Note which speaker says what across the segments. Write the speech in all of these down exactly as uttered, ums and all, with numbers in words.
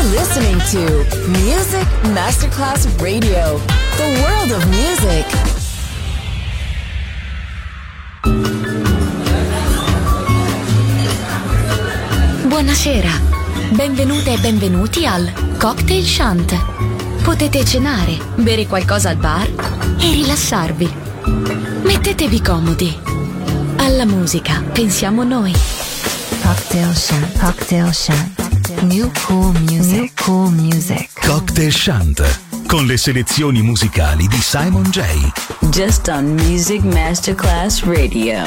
Speaker 1: listening to Music Masterclass Radio, the world of music.
Speaker 2: Buonasera, benvenute e benvenuti al Cocktail Shant. Potete cenare, bere qualcosa al bar e rilassarvi. Mettetevi comodi. Alla musica pensiamo noi.
Speaker 3: Cocktail Shant, Cocktail Shant. New cool music, New cool music.
Speaker 4: Cocktail Shant, con le selezioni musicali di Simon J.
Speaker 5: Just on Music Masterclass Radio.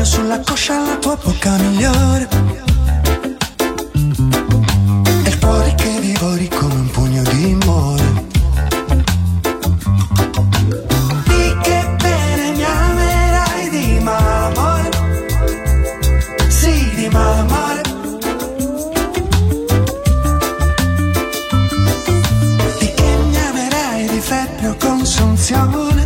Speaker 6: sulla coscia la tua bocca migliore e il cuore che divori come un pugno di amore. Di che bene mi amerai di malamore, sì di malamore. Di che mi amerai di febbre o consunzione,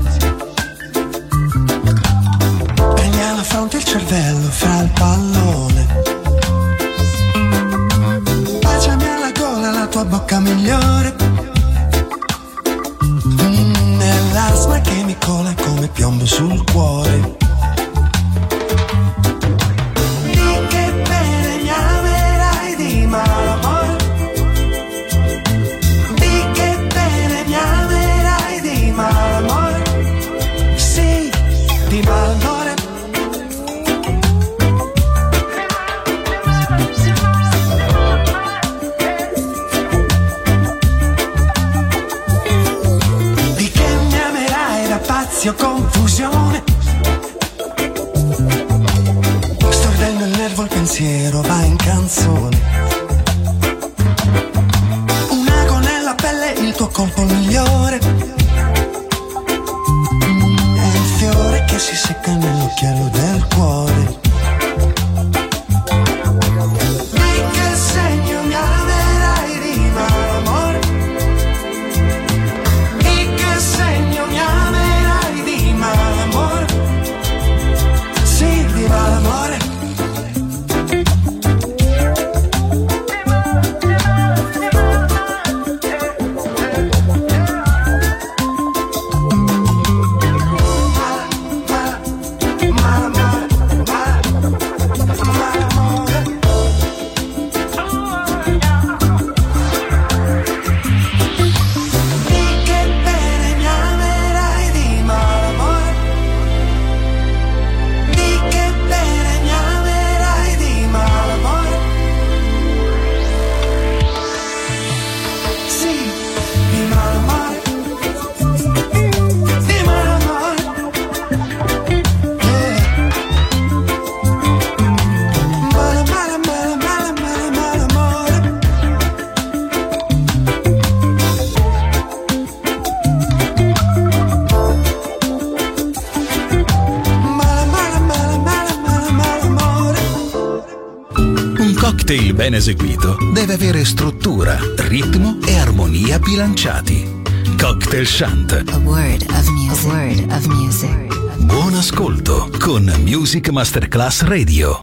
Speaker 6: alla fronte il cervello fra il pallone. Baciami alla gola la tua bocca migliore, mm, nell'asma che mi cola come piombo sul cuore. Di che bene mi amerai di malamore, di che bene mi amerai di malamore, sì di malamore. O confusione, stordendo il nervo il pensiero va in canzone. Un ago nella pelle, il tuo colpo migliore, mm, è il fiore che si secca nell'occhiello del cuore. Di che segno mi amerai di malamore, di che segno mi amerai di malamore, sì di malamore.
Speaker 4: cocktail ben eseguito deve avere struttura, ritmo e armonia bilanciati. Cocktail Chant.
Speaker 3: A word of music. A word of music.
Speaker 4: Buon ascolto con Music Masterclass Radio.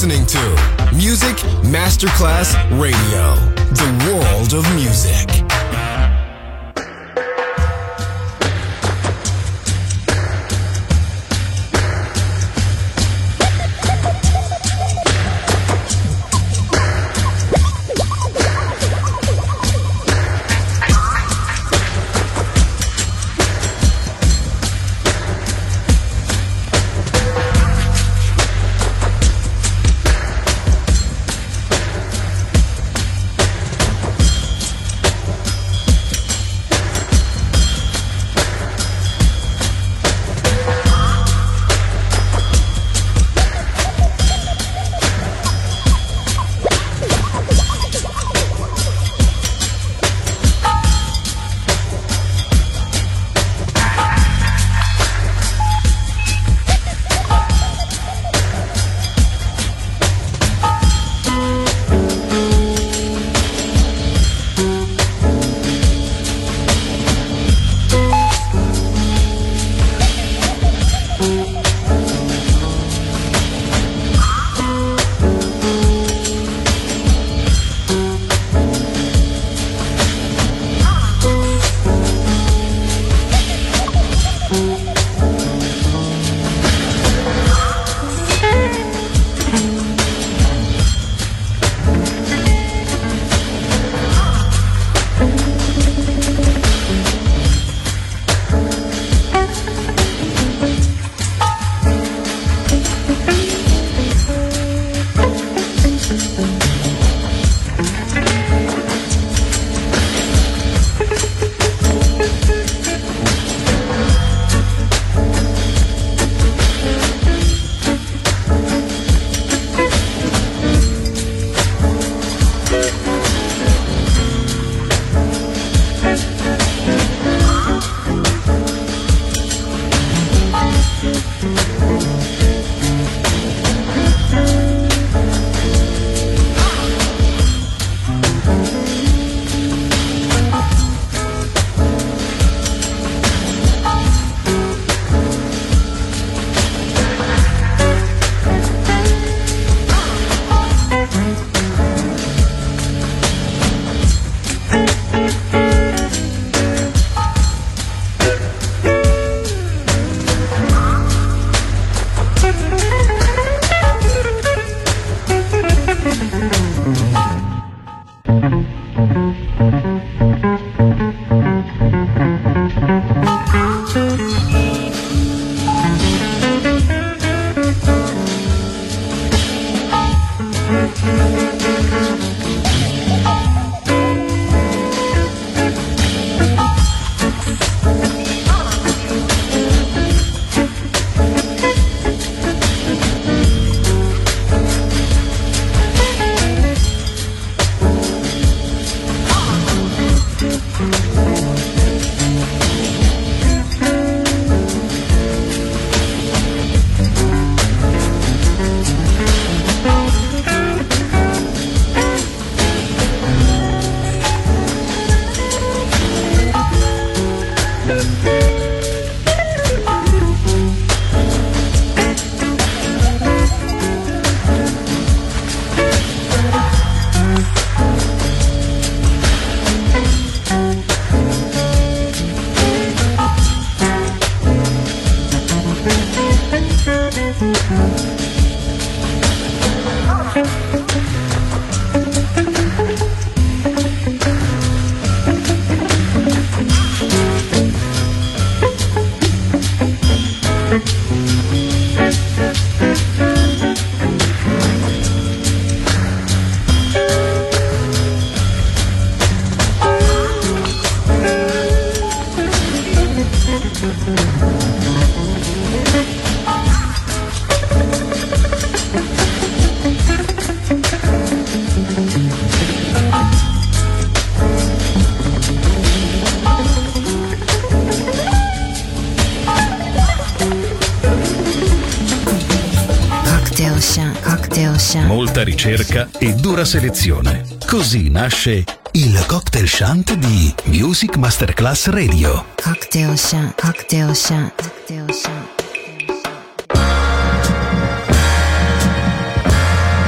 Speaker 7: listening to Music Masterclass Radio, the world of music.
Speaker 4: Molta ricerca e dura selezione. Così nasce il Cocktail Shant di Music Masterclass Radio.
Speaker 3: Cocktail Shant, Cocktail Shant, Cocktail Shant.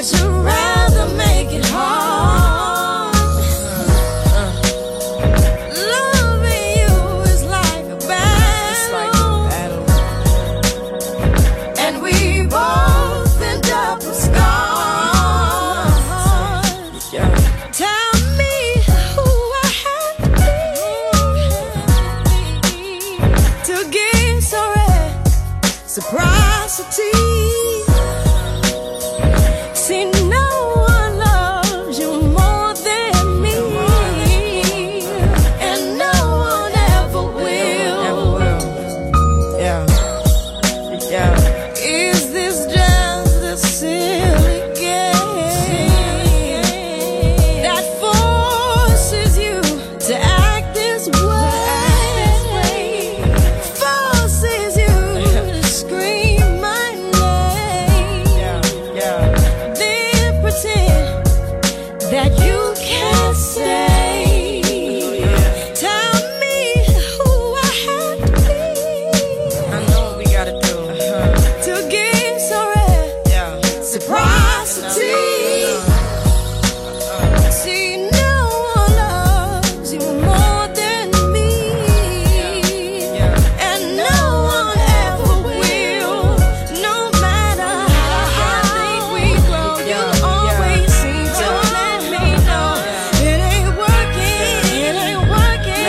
Speaker 8: but you'd rather make it hard. Loving you is like a battle, and we both end up with scars. Tell me who I have to be to give so reciprocity. See, no one loves you more than me, and no one ever will. Yeah, yeah. Is this just a silly game that forces you to act this way? Forces you to scream my name. Then pretend that you can't say. Tell me who I have to be. I know what we gotta do to give so reciprocity. See, no one loves you more than me, and no one ever will. No matter how I think we grow, you always seem to let me know it ain't working, it ain't working,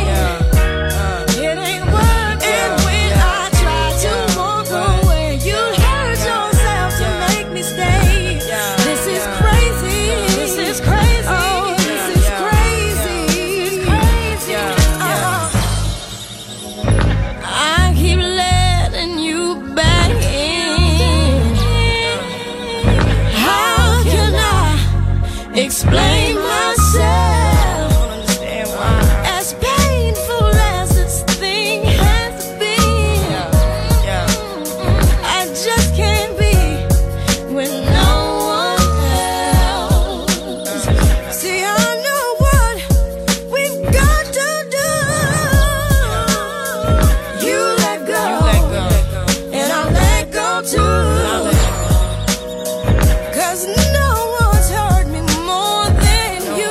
Speaker 8: it ain't working. When I try to walk away, you hurt yourself to make me stay. This is crazy, this is crazy, oh, this is crazy, crazy. Uh-huh. I keep letting you back in. How can I explain myself? As painful as this thing has been, I just can't be with no one else. See, I know what we've got to do. You let go, and I'll let go too. Cause no one's hurt me more than you,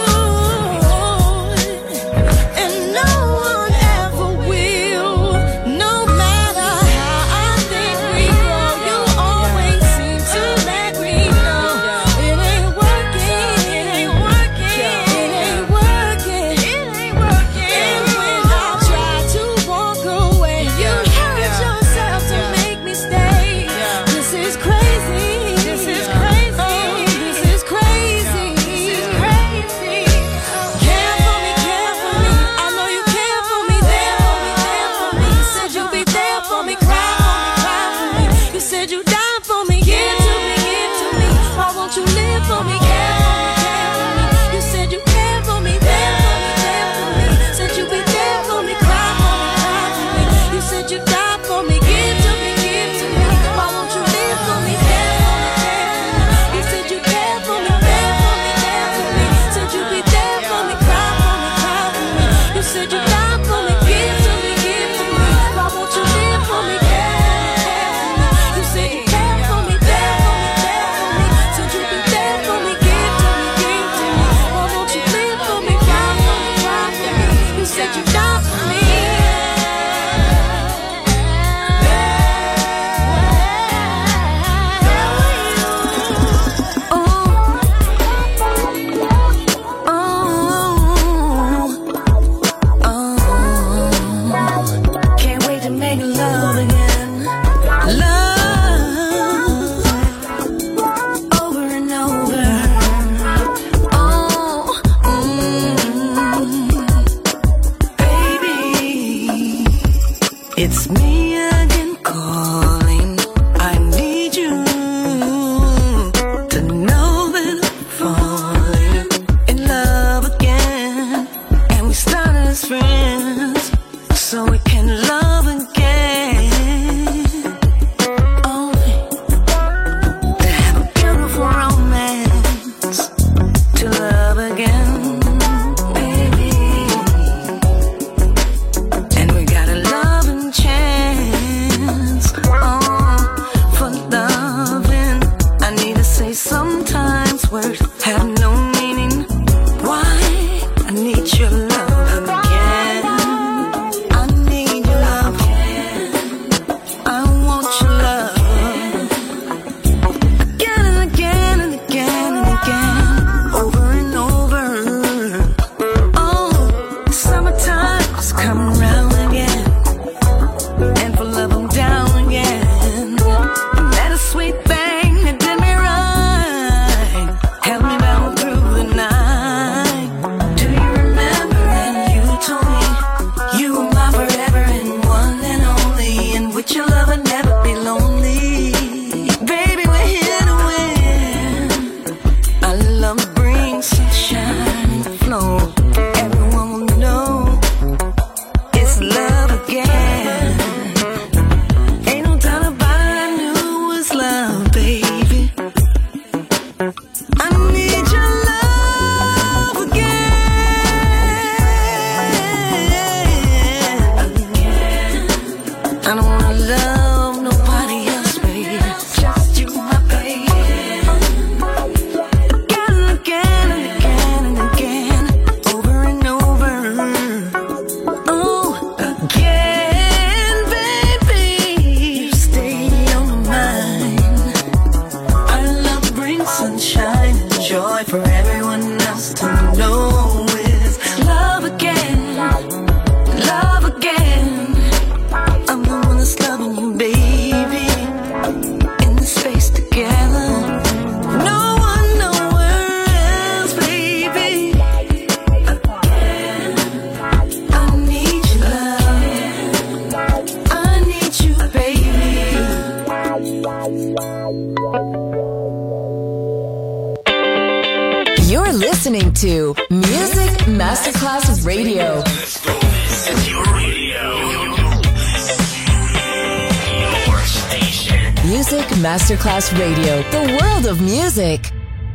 Speaker 8: and no one ever will. No matter how I think we grow, you always seem to let me know it ain't working, it ain't working, it ain't working, it ain't working. And when I try to walk away, you hurt yourself to make me stay. This is crazy, this is crazy, oh, this is crazy, this is crazy. Care for me, care for me, I know you care for me, there for me, there for me. You said you'd be there for me, cry for me, cry for me. You said you'd die for me, give to me, give to me. Why won't you live for me, care for me, care for me. You said you care for me, there for me, there for me. Said you'd be there for me, cry for me, cry for me. You said you'd die for me, give to me, give to me. Why won't you live for me, care for me, care for me. You said you care for me, there for me, there for me. Said you'd be there for me, cry for me, cry for me. You said you'd die for me, give to me, give to me. Why won't you live for me, care for me, care for me. You said you care
Speaker 1: You're listening to Music Masterclass Radio.
Speaker 9: Let's go. This is your radio. Your station.
Speaker 1: Music Masterclass Radio. The world of music.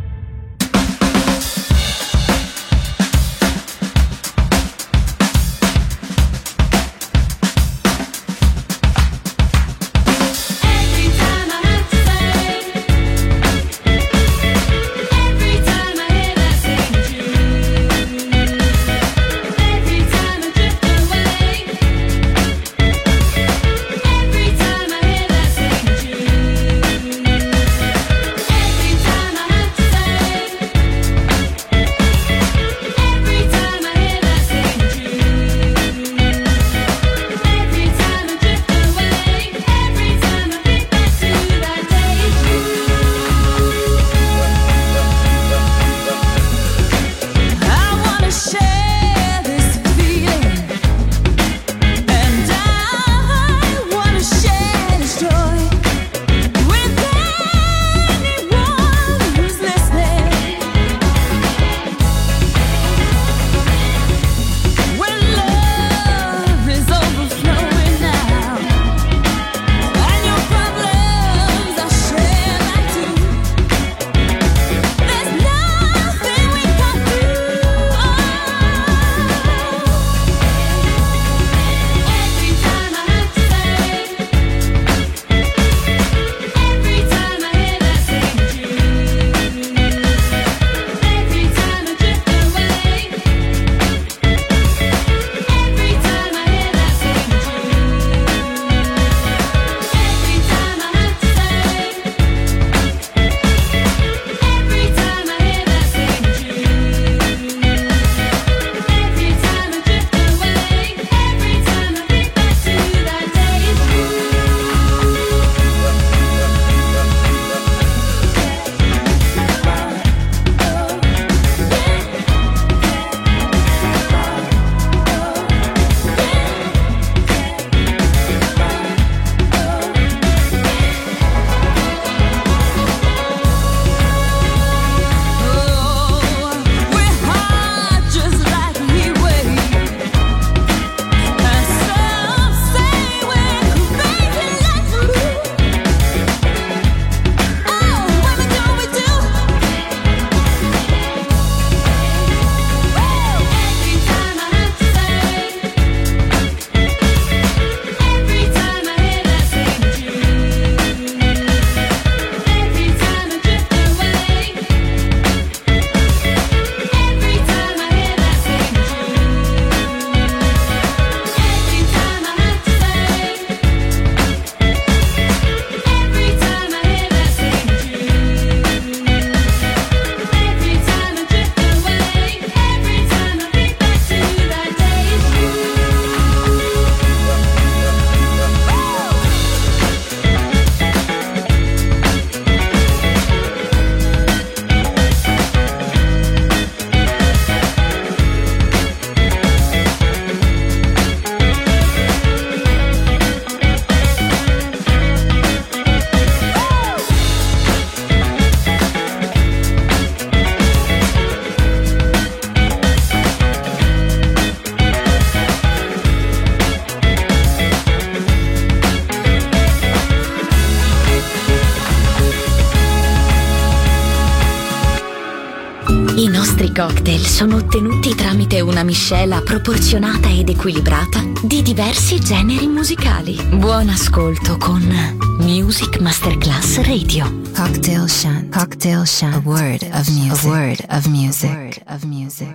Speaker 2: I nostri cocktail sono ottenuti tramite una miscela proporzionata ed equilibrata di diversi generi musicali. Buon ascolto con Music Masterclass Radio.
Speaker 3: Cocktail Shant. Cocktail Shant. A word of music. A word of music. A word of music.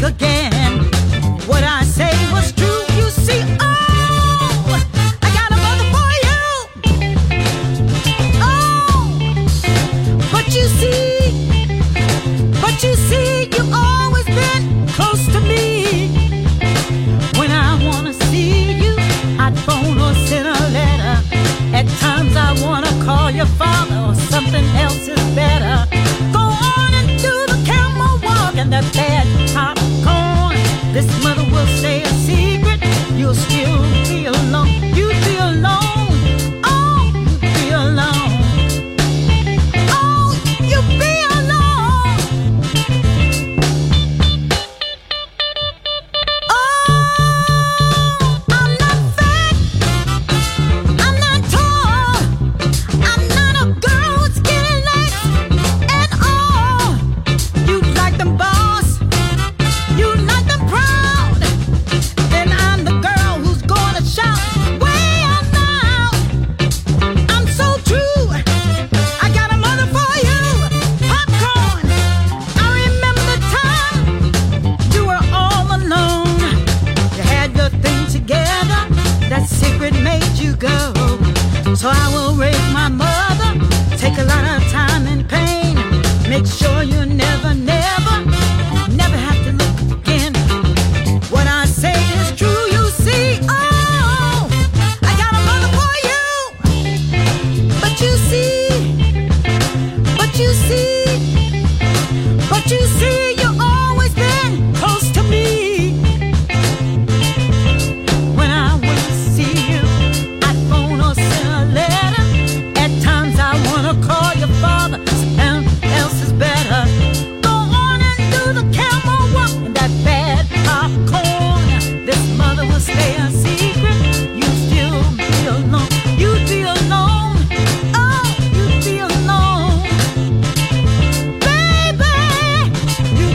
Speaker 8: again. What I say was true, you see. Oh, I got a mother for you. Oh, but you see, but you see, you always been close to me. When I wanna see you, I'd phone or send a letter. At times I wanna call your father, or something else is better. Go on and do the camel walk and that bad popcorn. This mother will stay a secret. You'll still be alone. You'd be alone. Oh, you'd be alone. Oh, you'd be alone. Oh, I'm not fat. I'm not tall. I'm not a girl with skinny legs at all. You like them boss. You like them proud. Then I'm the girl who's gonna shout way out loud. I'm so true. I got a mother for you. Popcorn. I remember the time you were all alone. You had your thing together. That secret made you go. So I will raise my mother. Take a lot of time and pain. Make sure you never, never, never have to look again. What I say is true, you see. Oh, I got a mother for you. But you see, but you see, but you see, you always been close to me. When I wanna see you, I'd phone or send a letter. At times I wanna call your father, something else is better. Go on and do the camel walk and that bad popcorn. This mother will stay a secret. You still be alone. You'd be alone. Oh, you'd be alone. Baby, you'd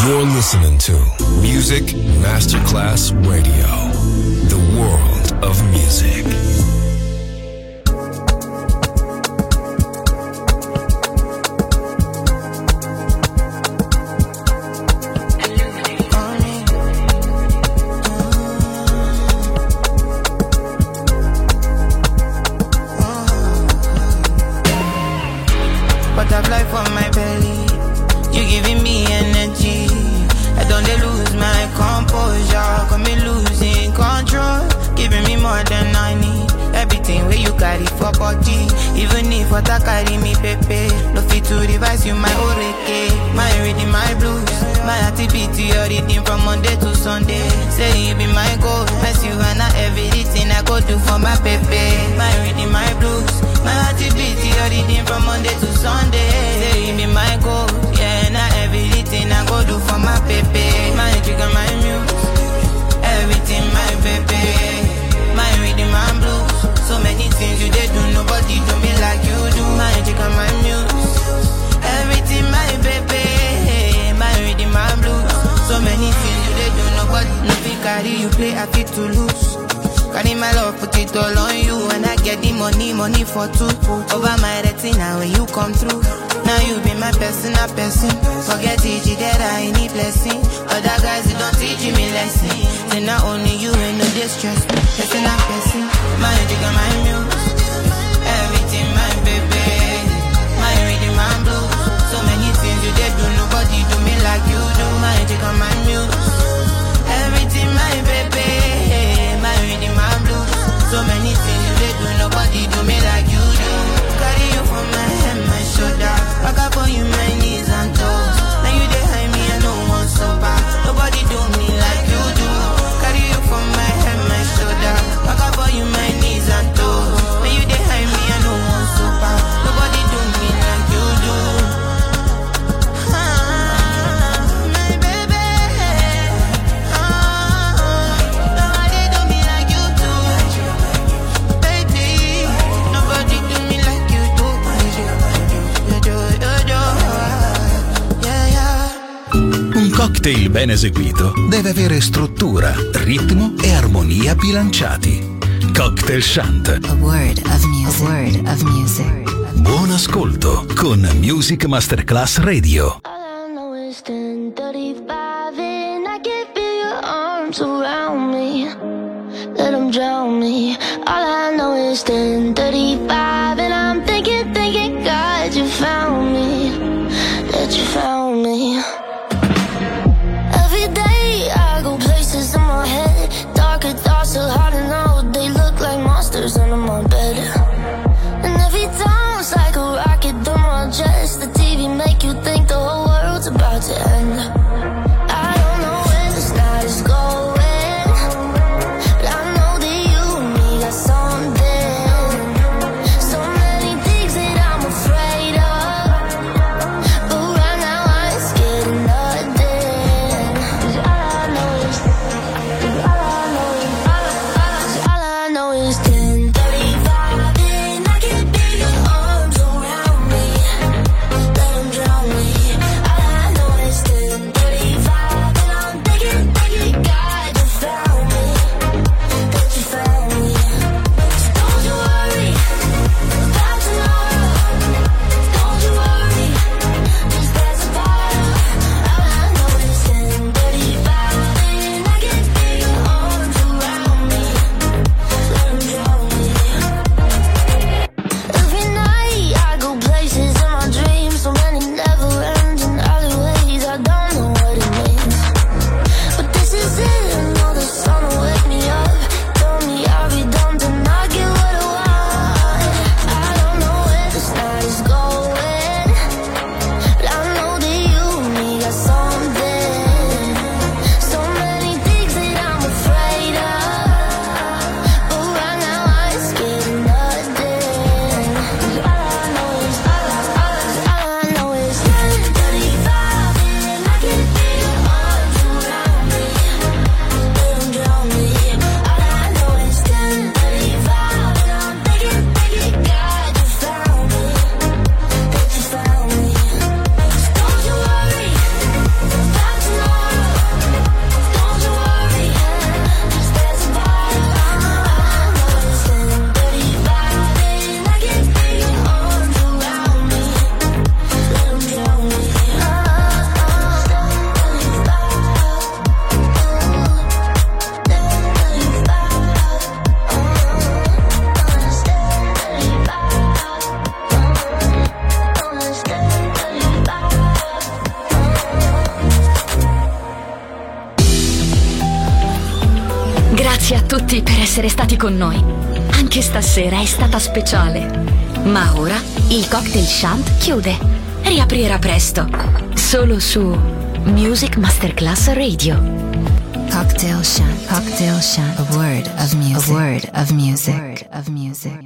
Speaker 7: You're listening to Music Masterclass Radio, the world of music.
Speaker 10: Butterfly for my belly, you giving me energy. I don't dey lose my composure, got me losing control, giving me more than I need. Everything where you carry for body, even if what I carry me pepe. No fit to revise you my oreke, my reading my blues, my activity your reading from Monday to Sunday. Say you be my goal, mess you and I everything I go do for my pepe. My reading my blues, my activity your reading from Monday to Sunday. Say you be my goal, yeah, and I everything I go do for my pepe. My trigger, my muse, everything my pepe. My reading my blues, so many things you did do, nobody do me like you do. My trigger, my muse, everything my pepe. My reading my blues, so many things you did do, nobody no fit carry you play, I fit to lose. Carry my love, put it all on you. And I get the money, money for two. Over my retina when you come through. Now you be my personal person. Forget it, that I need blessing. Other guys, they don't teach me lesson. Say not only you ain't no distress. Personal person, my jigger, my muse. Everything, my baby. My reading, my blues. So many things you did do, nobody do me like you do. My jigger, my muse. Everything, my baby. My reading, my blues. So many things you did do, nobody do me like you do. Carry you from my head, my shoulder. Back up on you, my knees and toes. Now you behind me, I don't want so bad. Nobody do me like you do. Carry you from my head, my shoulder. Back up on you, my knees and toes. Now you behind me, I don't want so bad. Nobody do me like you do.
Speaker 4: Un cocktail ben eseguito deve avere struttura, ritmo e armonia bilanciati. Cocktail Shant.
Speaker 3: A word of music. A word of music.
Speaker 4: Buon ascolto con Music Masterclass Radio.
Speaker 8: All I know is ten thirty-five and I can feel your arms around me. Let them drown me. All I know is ten thirty-five and I'm thinking, thinking, God, you found me. That you found me. Every day I go places in my head. Darker thoughts so hard to know. They look like monsters under my bed. And every time it's like a rocket through my chest. The T V make you think the whole world's about to end. I don't know where this night is going, but I know that you and me got something. So many things that I'm afraid
Speaker 2: essere stati con noi. Anche stasera è stata speciale. Ma ora il Cocktail Shant chiude. Riaprirà presto. Solo su Music Masterclass Radio.
Speaker 3: Cocktail Shant. Cocktail Shant. A word of music. A word of music. A word of music.